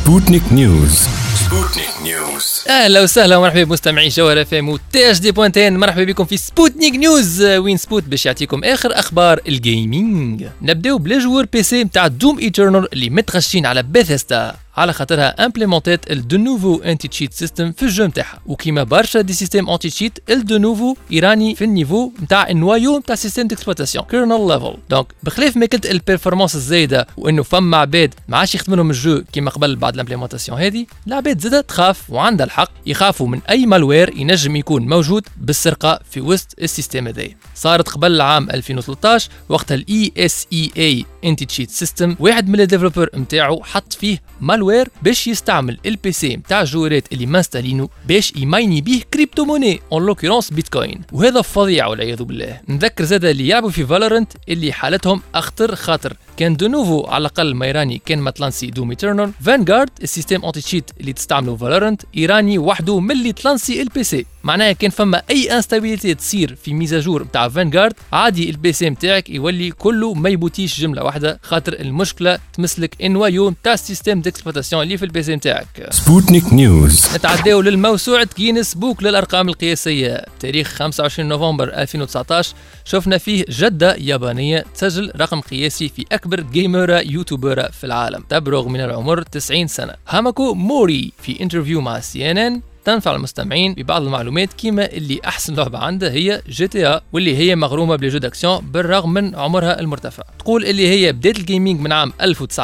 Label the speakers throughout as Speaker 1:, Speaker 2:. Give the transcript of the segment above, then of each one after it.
Speaker 1: سبوتنيك نيوز. سبوتنيك نيوز.
Speaker 2: اهلا وسهلا ومرحبا بمستمعي جوهر اف ام وتي اش دي بوينتين. مرحبا بكم في سبوتنيك نيوز، وين سبوت باش يعطيكم اخر اخبار الجيمنج. نبداو بلا جوور بي سي نتاع دوم ايترنال اللي متغشين على بيثيستا على خاطرها امبليمونتيت الدو نوفو انتي تشيت سيستم في الجو نتاعها، وكيما برشا دي سيستم انتي تشيت الدو نوفو ايراني في النيفو نتاع النوايو نتاع سيستم ديكسبلوتاسيون كيرنل ليفل. دونك بخلاف ما كنت البيرفورمانس الزايده وانه فما عباد ما عادش يخدموا لهم الجو كيما قبل بعد الامبليمونتاسيون هذه، العباد زاده تخاف وعندها الحق يخافوا من اي مالوير ينجم يكون موجود بالسرقه في وسط السيستم هذا. صارت قبل العام 2013 وقتها الاي اس اي اي انتي تشيت سيستم واحد من الديفلوبر نتاعو حط فيه مالوير باش يستعمل البي سي نتاع الجوارات اللي مانستالينو باش يمايني بيه كريبتو موني اون لوكيرونس بيتكوين، وهذا فظيع والعياذ بالله. نذكر زاده اللي يلعبوا في فالورنت اللي حالتهم اخطر، خاطر كان دو نوفو على الاقل ما ايراني كان متلانسي دوم ايترنال. فانغارد السيستم انتي تشيت اللي تستعملوا فالورنت ايراني وحده من اللي تلانسي البي سي، معناها كان فما اي انستابيليتي تصير في ميزاجور نتاع فانغارد عادي البي سي نتاعك يولي كله ما يبوتيش جمله واحده، خاطر المشكله تمسلك النوايو نتاع السيستم ديكسبلوتاسيون اللي في البي سي نتاعك.
Speaker 1: سبوتنيك نيوز.
Speaker 2: نتعداو للموسوعه جينيس بوك للارقام القياسيه. تاريخ 25 نوفمبر 2019 شفنا فيه جده يابانيه تسجل رقم قياسي في اكبر جيمر يوتيوبر في العالم، تبلغ من العمر 90 سنه. هاماكو موري في انترفيو مع CNN تنفع المستمعين ببعض المعلومات كيما اللي احسن لعبه عندها هي جي تي ا، واللي هي مغرومه بلي جو داكسيون بالرغم من عمرها المرتفع. تقول اللي هي بدات الجيمنج من عام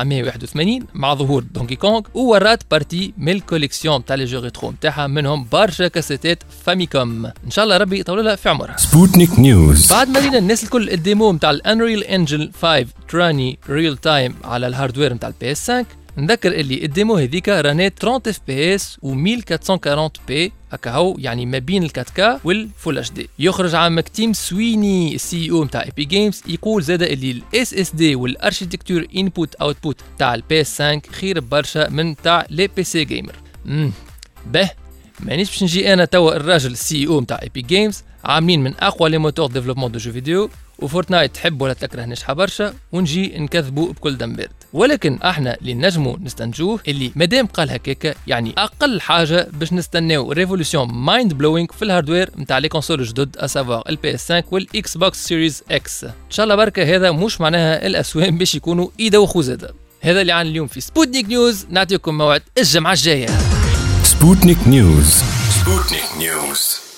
Speaker 2: 1981 مع ظهور دونكي كونغ، وورات بارتي من الكوليكسيون تاع لي جو ريترو نتاعها، منهم برشا كاسيتات فاميكوم. ان شاء الله ربي يطول لها في عمرها.
Speaker 1: سبوتنيك نيوز.
Speaker 2: بعد ما لينا الناس الكل الديمو نتاع الانريل انجن 5 تراني ريل تايم على الهاردوير نتاع البي اس 5، نذكر اللي الديمو هذيك رانات 30 اف بي اس و 1440 بي هكا هو، يعني ما بين ال 4K والفول اتش دي. يخرج عامك تيم سويني السي او نتاع ايبي جيمز يقول زاده اللي الاس اس دي والاركيتكتور انبوت اوتبوت تاع البي اس 5 خير برشا من تاع لي بي سي جيمر. به مانيش باش نجي انا توا الراجل السي او نتاع ايبي جيمز عاملين من اقوى لي موتور ديفلوبمون دو جو فيديو وفورتنايت تحب ولا تكره نجحة برشا ونجي نكذبوا بكل دم بارد، ولكن احنا اللي نجموا نستنجوه اللي مادام قال هكاكا يعني اقل حاجه باش نستناو ريفولوشن مايند بلوينغ في الهاردوير نتاع لي كونسول الجدد اسافوار البي اس 5 والاكس بوكس سيريز اكس. ان شاء الله بركه هذا مش معناها الاسوام باش يكونوا يدوخوا زاده. هذا اللي عن اليوم في سبوتنيك نيوز، نعطيكم موعد الجمعه الجايه.
Speaker 1: سبوتنيك نيوز. سبوتنيك نيوز.